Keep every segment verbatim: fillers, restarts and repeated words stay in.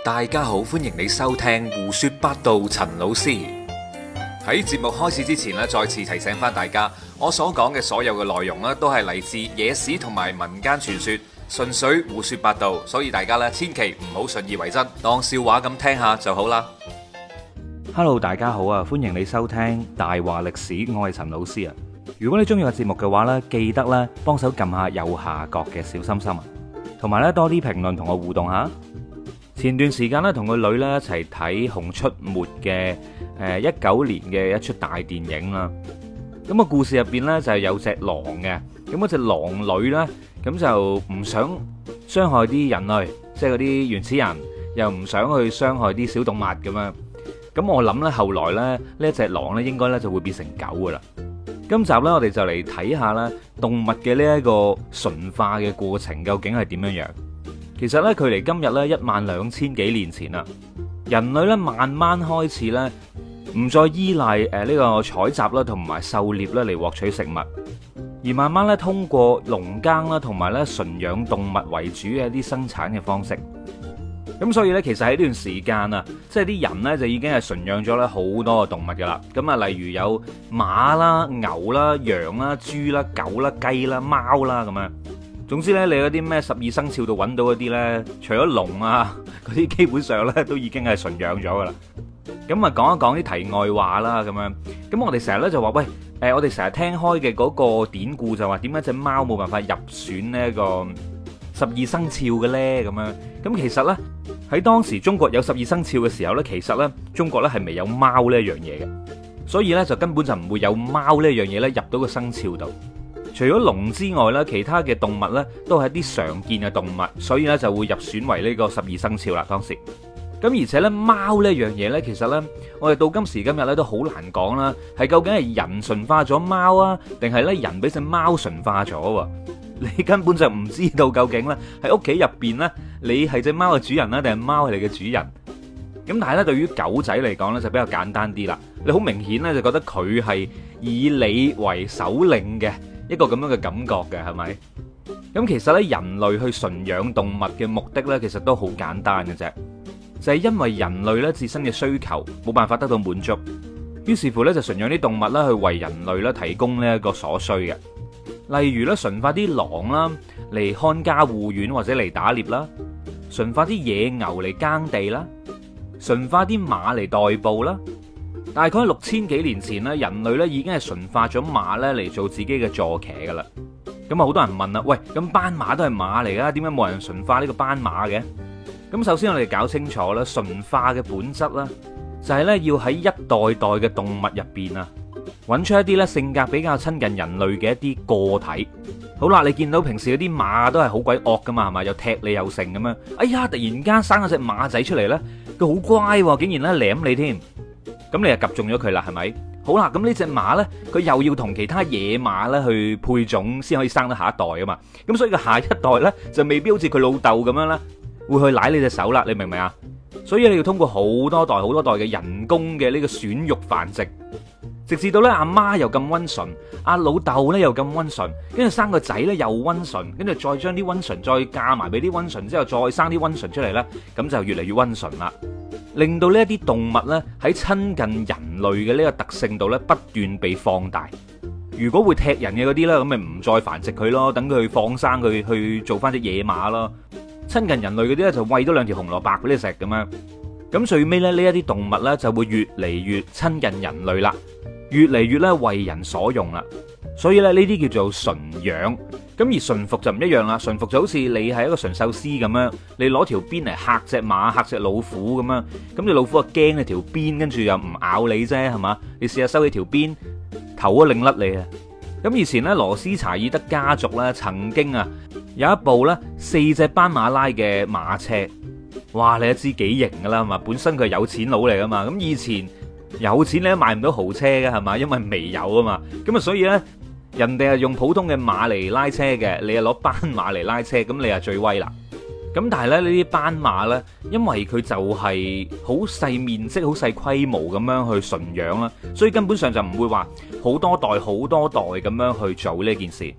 大家好，歡迎你收聽胡說八道。陳老師喺節目開始之前咧，再次提醒翻大家，我所講嘅所有嘅內容咧，都係嚟自野史同埋民間傳說，純粹胡說八道，所以大家咧千祈唔好信以為真，當笑話咁聽下就好啦。 Hello， 大家好啊！歡迎你收聽大話歷史，我係陳老師啊。如果你中意個節目嘅話呢，記得咧幫手撳下右下角嘅小心心啊，同埋咧多啲評論同我互動下。前段時間咧同個女咧一齊睇《熊出沒》嘅誒一九年嘅一出大電影啦。咁個故事入邊呢，就係有隻狼嘅，咁嗰隻狼女呢，咁就唔想傷害啲人類，即係嗰啲原始人，又唔想去傷害啲小動物咁樣。咁我諗呢，後來咧呢一隻狼呢，應該呢就會變成狗噶啦。今集呢，我哋就嚟睇下啦動物嘅呢一個馴化嘅過程究竟係點樣樣。其實咧，距離今日咧一萬兩千幾年前啦，人類咧慢慢開始咧唔再依賴誒呢個採集啦同埋狩獵咧嚟獲取食物，而慢慢咧通過農耕啦同埋咧馴養動物為主嘅一啲生產嘅方式。咁所以咧，其實喺呢段時間啊，即係啲人咧就已經係馴養咗咧好多嘅動物噶啦。咁啊，例如有馬啦、牛啦、羊啦、豬啦、狗啦、雞啦、貓啦咁樣。總之咧，你嗰啲咩十二生肖度揾到嗰啲咧，除咗龍啊，嗰啲基本上咧都已經係馴養咗噶啦。咁啊，講一講啲題外話啦，咁樣。咁我哋成日咧就話，喂，誒，我哋成日聽開嘅嗰個典故就話，點解隻貓冇辦法入選呢個十二生肖嘅咧？咁樣。咁其實咧喺當時中國有十二生肖嘅時候咧，其實咧中國咧係未有貓呢一樣嘢嘅，所以咧就根本就唔會有貓呢一樣嘢咧入到個生肖度。除咗龍之外咧，其他嘅動物咧都係一啲常見嘅動物，所以咧就會入選為呢個十二生肖啦。當時咁，而且咧貓呢樣嘢咧，其實咧我哋到今時今日咧都好難講啦，係究竟係人馴化咗貓啊，定係咧人俾隻貓馴化咗？你根本就唔知道究竟咧喺屋企入邊咧，你係隻貓嘅主人啦，定係貓係你嘅主人？咁但係咧，對於狗仔嚟講咧就比較簡單啲啦。你好明顯咧就覺得佢係以你為首領嘅。一個咁樣嘅感覺嘅係咪？咁其實咧，人類去馴養動物嘅目的咧，其實都好簡單嘅啫，就係因為人類咧自身嘅需求冇辦法得到滿足，於是乎咧就馴養啲動物啦，去為人類咧提供呢一個所需嘅。例如咧，馴化啲狼啦嚟看家護院或者嚟打獵啦，馴化啲野牛嚟耕地啦，馴化啲馬嚟代步啦。大概六千幾年前咧，人類咧已經係馴化咗馬咧嚟做自己嘅坐騎噶啦。咁啊，好多人問啦，喂，咁斑馬都係馬嚟噶，點解冇人馴化呢個斑馬嘅？咁首先我哋搞清楚啦，馴化嘅本質啦，就係咧要喺一代代嘅動物入邊啊，揾出一啲咧性格比較親近人類嘅一啲個體。好啦，你見到平時嗰啲馬都係好鬼惡噶嘛，係嘛，又踢你又成咁樣。哎呀，突然間生咗隻馬仔出嚟咧，佢好乖，竟然咧舐你添。咁你就及中咗佢啦，係咪？好啦，咁呢隻馬呢，佢又要同其他野馬呢去配種，先可以生得下一代啊嘛。咁所以個下一代呢，就未必好似佢老豆咁樣啦，會去舐你隻手啦。你明唔明啊？所以你要通過好多代、好多代嘅人工嘅呢個選育繁殖，直至到呢阿媽又咁溫順，阿老豆呢又咁溫順，跟住生個仔呢又溫順，跟住再將啲溫順再嫁埋俾啲溫順之後，再生啲溫順出嚟呢，咁就越嚟越溫順啦。令到呢一啲動物呢喺親近人類嘅呢個特性度呢不斷被放大。如果會踢人嘅嗰啲呢，咁咪唔再繁殖佢咯，等佢放生佢去做翻隻野馬咯。親近人類嗰啲呢，就餵多兩條紅蘿蔔俾你食咁樣。咁最尾咧呢一啲動物呢，就會越嚟越親近人類啦，越嚟越咧為人所用啦。所以咧呢啲叫做馴養。咁而馴服就唔一樣啦，馴服就好似你係一個馴獸師咁樣，你攞條鞭嚟嚇隻馬、嚇隻老虎咁樣，咁你老虎啊驚你條鞭，跟住又唔咬你啫，係嘛？你試下收起條鞭，頭都擰甩你啊！咁以前咧羅斯柴爾德家族咧曾經啊有一部咧四隻斑馬拉嘅馬車，哇！你都知幾型噶啦，係嘛？本身佢係有錢佬嚟噶嘛，咁以前有錢你都買唔到豪車嘅，係嘛？因為未有啊嘛，咁啊所以咧。人哋係用普通嘅馬嚟拉車嘅，你係攞斑馬嚟拉車，咁你係最威啦。咁但係咧呢啲斑馬呢，因為佢就係好細面積、好細規模咁樣去馴養啦，所以根本上就唔會話好多代、好多代咁樣去做呢件事。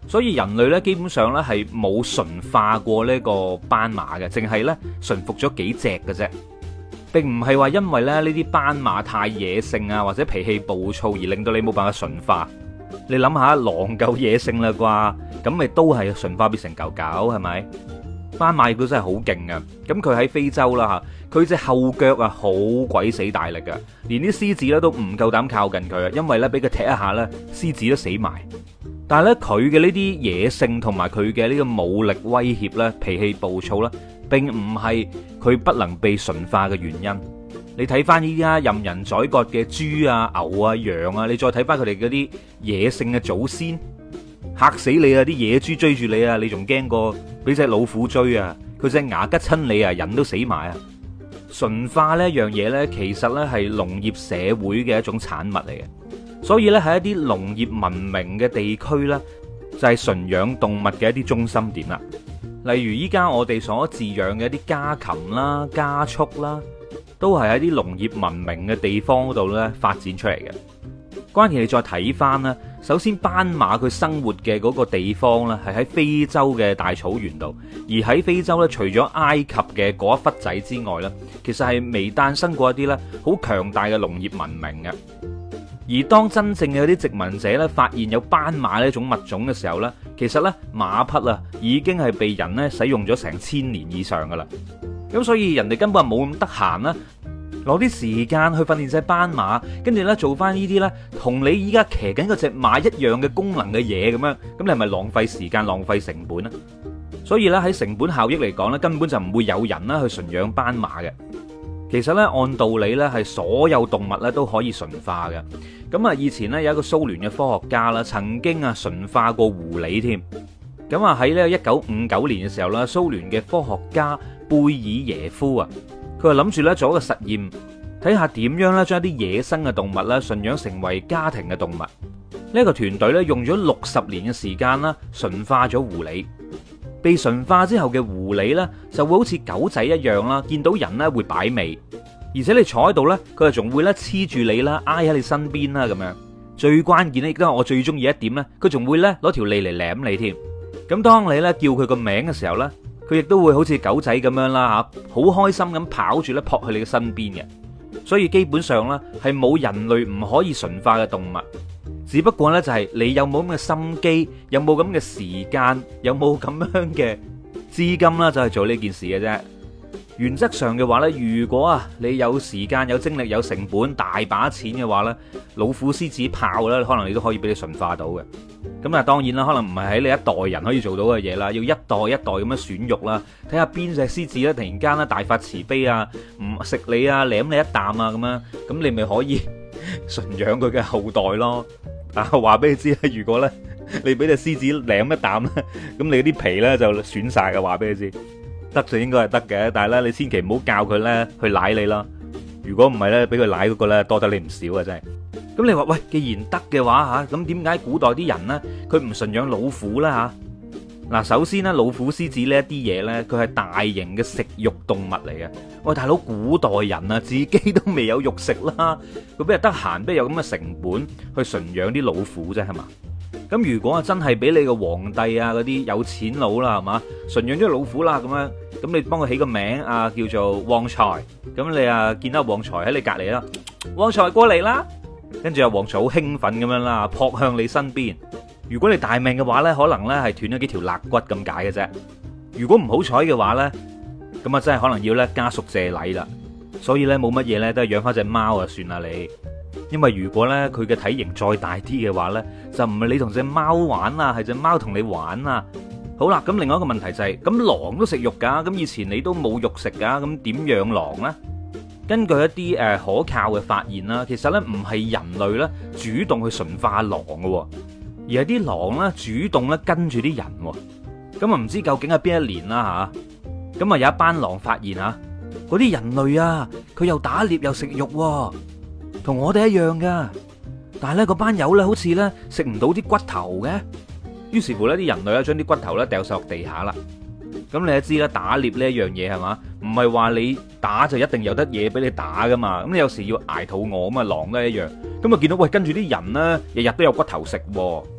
所以人類咧基本上咧係冇馴化過呢個斑馬嘅，淨係咧馴服咗幾隻嘅啫，並唔係話因為咧呢啲斑馬太野性啊或者脾氣暴躁而令到你冇辦法馴化。你諗下，狼夠野性啦啩，咁咪都係馴化變成狗狗係咪？斑馬亦都真係好勁噶，咁佢喺非洲啦吓，佢隻後腳啊好鬼死大力噶，連啲獅子咧都唔夠膽靠近佢啊，因為咧俾佢踢一下咧，獅子都死埋。但係咧佢嘅呢啲野性同埋佢嘅呢個武力威脅咧，脾氣暴躁咧，並唔係佢不能被馴化嘅原因。你睇翻依家任人宰割嘅豬啊、牛啊、羊啊，你再睇翻佢哋嗰啲野性嘅祖先，嚇死你啊！啲野豬追住你啊，你仲驚過俾隻老虎追啊？佢隻牙吉親你啊，人都死埋啊！馴化呢一樣嘢呢，其實呢係農業社會嘅一種產物嚟嘅，所以呢，喺一啲農業文明嘅地區呢，就係馴養動物嘅一啲中心點啦。例如依家我哋所飼養嘅一啲家禽啦、家畜啦，都係喺啲農業文明嘅地方嗰度咧發展出嚟嘅。關鍵你再睇翻啦，首先斑馬佢生活嘅嗰個地方咧係喺非洲嘅大草原度，而喺非洲咧除咗埃及嘅嗰一忽仔之外咧，其實係未誕生過一啲咧好強大嘅農業文明嘅。而當真正嘅啲殖民者咧發現有斑馬呢種物種嘅時候咧，其實咧馬匹啊已經係被人咧使用咗成千年以上噶啦。咁所以人哋根本冇咁得閒啦，攞啲時間去訓練隻斑馬，跟住咧做翻呢啲咧同你依家騎緊嗰隻馬一樣嘅功能嘅嘢咁樣，咁你係咪浪費時間、浪費成本啊？所以咧喺成本效益嚟講咧，根本就唔會有人啦去馴養斑馬嘅。其實咧按道理咧係所有動物咧都可以馴化嘅。咁啊以前咧有一個蘇聯嘅科學家啦，曾經啊馴化過狐狸添。咁啊喺呢一九五九年嘅時候啦，蘇聯嘅科學家貝爾耶夫啊，佢就諗住咧做一個實驗，睇下點樣咧將一啲野生嘅動物咧馴養成為家庭嘅動物。呢個團隊咧用咗六十年嘅時間啦，馴化咗狐狸。被馴化之後嘅狐狸咧，就會好似狗仔一樣啦，見到人咧會擺尾，而且你坐喺度咧，佢就仲會咧黐住你啦，挨喺你身邊啦咁樣。最關鍵咧，亦都係我最中意一點咧，佢仲會咧攞條脷嚟舐你添。咁當你咧叫佢個名嘅時候咧，佢亦都會好似狗仔咁樣啦吓，好開心咁跑住咧撲去你嘅身邊嘅。所以基本上咧係冇人類唔可以馴化嘅動物。只不過呢，就係你有冇咁嘅心機，有冇咁嘅時間，有冇咁樣嘅資金啦，就係做呢件事嘅啫。原則上嘅話呢，如果啊你有時間、有精力、有成本、大把錢嘅話呢，老虎、獅子、豹呢，可能你都可以俾你馴化到嘅。咁啊，當然啦，可能唔係喺你一代人可以做到嘅嘢啦，要一代一代咁樣選育啦，睇下邊隻獅子咧突然間咧大發慈悲啊，唔食你啊，舐你一啖啊咁樣，咁你咪可以馴養佢嘅後代咯。啊，話俾你知啦，如果咧你俾隻獅子舐一啖咧，咁你啲皮咧就損晒嘅。話俾你知，得就應該係得嘅，但係咧你千祈唔好教佢咧去舐你啦。如果唔係咧，俾佢舐嗰個咧多得你唔少啊，真係。咁你話喂，既然得嘅話吓，咁點解古代啲人咧佢唔馴養老虎啦吓？嗱，首先咧老虎、獅子呢一啲嘢咧，佢係大型嘅食肉動物嚟嘅。喂，大佬，古代人啊，自己都未有肉食啦，佢邊日得閒，邊有咁嘅成本去馴養啲老虎啫，係嘛？咁如果啊真係俾你個皇帝啊嗰啲有錢佬啦，係嘛，馴養咗老虎啦，咁樣，咁你幫佢起個名啊，叫做旺財。咁你啊見到旺財喺你隔籬啦，旺財過嚟啦，跟住啊旺財好興奮咁樣啦，撲向你身邊。如果你大命嘅話呢，可能呢係斷咗幾條肋骨咁解嘅啫。如果唔好彩嘅話呢，咁啊真係可能要咧家屬謝禮啦。所以呢，冇乜嘢呢，都係養翻隻貓啊算啦你。因為如果呢，佢嘅體型再大啲嘅話呢，就唔係你同隻貓玩啊，係隻貓同你玩啊。好啦，咁另外一個問題就係，咁狼都食肉噶，咁以前你都冇肉食噶，咁點養狼呢？根據一啲誒可靠嘅發現啦，其實呢唔係人類咧主動去馴化狼嘅，而係啲狼咧主動咧跟住啲人。咁啊唔知究竟係邊一年啦吓，咁啊有一班狼發現啊，嗰啲人類啊，佢又打獵又食肉，同我哋一樣噶。但係咧嗰班友咧好似咧食唔到啲骨頭嘅，於是乎咧啲人類咧將啲骨頭咧掉晒落地下啦。咁你都知啦，打獵呢一樣嘢係嘛，唔係話你打就一定有得嘢俾你打噶嘛。咁你有時要挨肚餓咁啊，狼都係一樣。咁啊見到喂跟住啲人咧，日日都有骨頭食，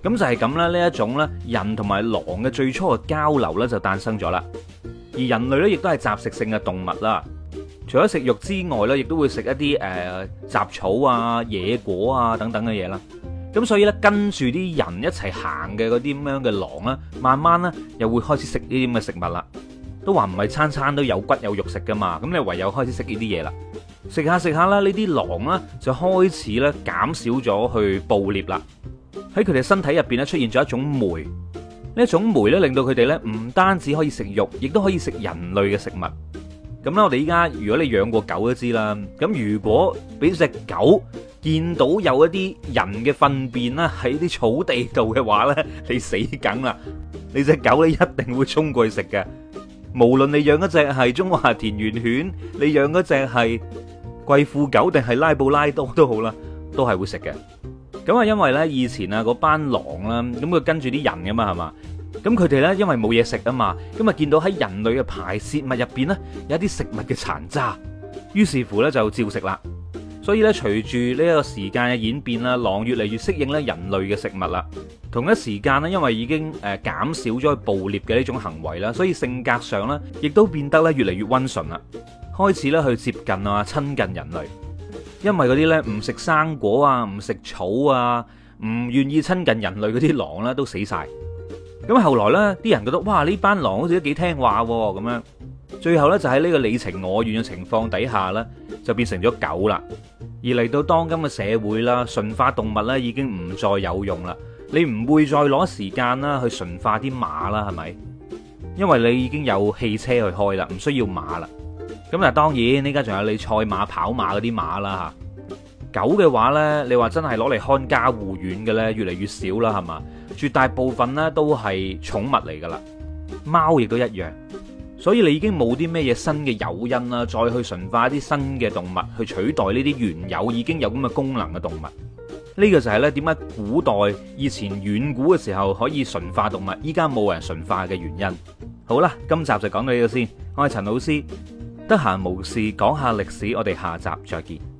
咁就係咁啦，呢一種咧人同埋狼嘅最初嘅交流咧就誕生咗啦。而人類咧亦都係雜食性嘅動物啦，除咗食肉之外咧，亦都會食一啲誒雜草啊、野果啊等等嘅嘢啦。咁所以咧跟住啲人一齊行嘅嗰啲咁樣嘅狼啦，慢慢咧又會開始食呢啲咁嘅食物啦。都話唔係餐餐都有骨有肉食噶嘛，咁你唯有開始食呢啲嘢啦。食下食下啦，呢啲狼啦就開始咧減少咗去捕獵啦。喺佢哋身體入邊咧出現咗一種酶，呢一種酶咧令到佢哋咧唔單止可以食肉，亦都可以食人類嘅食物。咁咧我哋依家如果你養過狗都知啦，咁如果俾隻狗見到有一啲人嘅糞便啦喺啲草地度嘅話咧，你死梗啦！你隻狗咧一定會衝過去食嘅。無論你養嗰隻係中華田園犬，你養嗰隻係貴婦狗定係拉布拉多都好啦，都係會食嘅。咁啊，因為咧以前啊嗰班狼啦，咁佢跟住啲人噶嘛，係嘛？咁佢哋咧因為冇嘢食啊嘛，咁啊見到喺人類嘅排泄物入邊咧有一啲食物嘅殘渣，於是乎咧就照食啦。所以咧隨住呢一個時間嘅演變啦，狼越嚟越適應咧人類嘅食物啦。同一時間咧，因為已經誒減少咗去捕獵嘅呢種行為啦，所以性格上咧亦都變得咧越嚟越溫順啦，開始咧去接近啊親近人類。因為嗰啲咧唔食生果啊、唔食草啊、唔願意親近人類嗰啲狼咧都死晒。咁後來咧啲人覺得哇呢班狼好似都幾聽話咁樣，最後咧就喺呢個你情我願嘅情況底下咧就變成咗狗啦。而嚟到當今嘅社會啦，馴化動物咧已經唔再有用啦。你唔會再攞時間啦去馴化啲馬啦，係咪？因為你已經有汽車去開啦，唔需要馬啦。咁但係當然呢家仲有你賽馬、跑馬嗰啲馬啦吓。狗嘅話呢，你話真係攞嚟看家護院嘅呢，越嚟越少啦，係嘛？絕大部分呢都係寵物嚟噶啦，貓亦都一樣。所以你已經冇啲咩嘢新嘅誘因啦，再去馴化一啲新嘅動物去取代呢啲原有已經有咁嘅功能嘅動物。呢個就係咧點解古代以前遠古嘅時候可以馴化動物，依家冇人馴化嘅原因。好啦，今集就講到呢度先。我係陳老師，得閒無事講下歷史，我哋下集再見。